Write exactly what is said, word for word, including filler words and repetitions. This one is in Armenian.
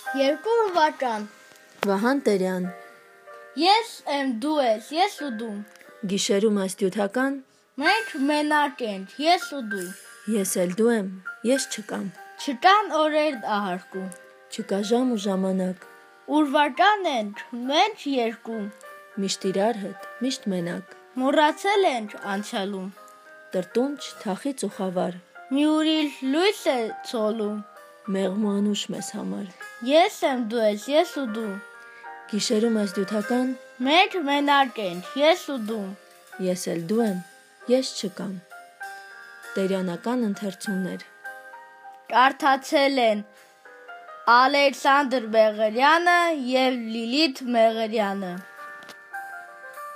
Երկու վաճան։ Վահան Տերյան։ Ես եմ, դու ես, ես ու դու։ Գիշերում աստյութական։ Մենք մենակ ենք, ես ու դու։ Ես էլ դու եմ, ես չկամ։ Չկան օրեր ահարկու։ Չկա ժամ ու ժամանակ։ Ուր վաճան ենք, մենք երկու։ Միշտ իրար հետ, միշտ մենակ։ Մոռացել ենք անցյալում։ Տրտունջ, թախիծ ու խավար։ Մի ուրիշ լույս է ցոլում։ Մեղմ ու անուշ մեզ համար։ Ես եմ, դու ես, ես ու դու։ Գիշերում աստյութական։ Մենք մենակ ենք, ես ու դու։ Ես էլ դու եմ, ես չկամ։ Տերյանական ընթերցումներ։ Կարդացել են Ալեքսանդր Մեղրյանը և Լիլիթ Մեղրյանը։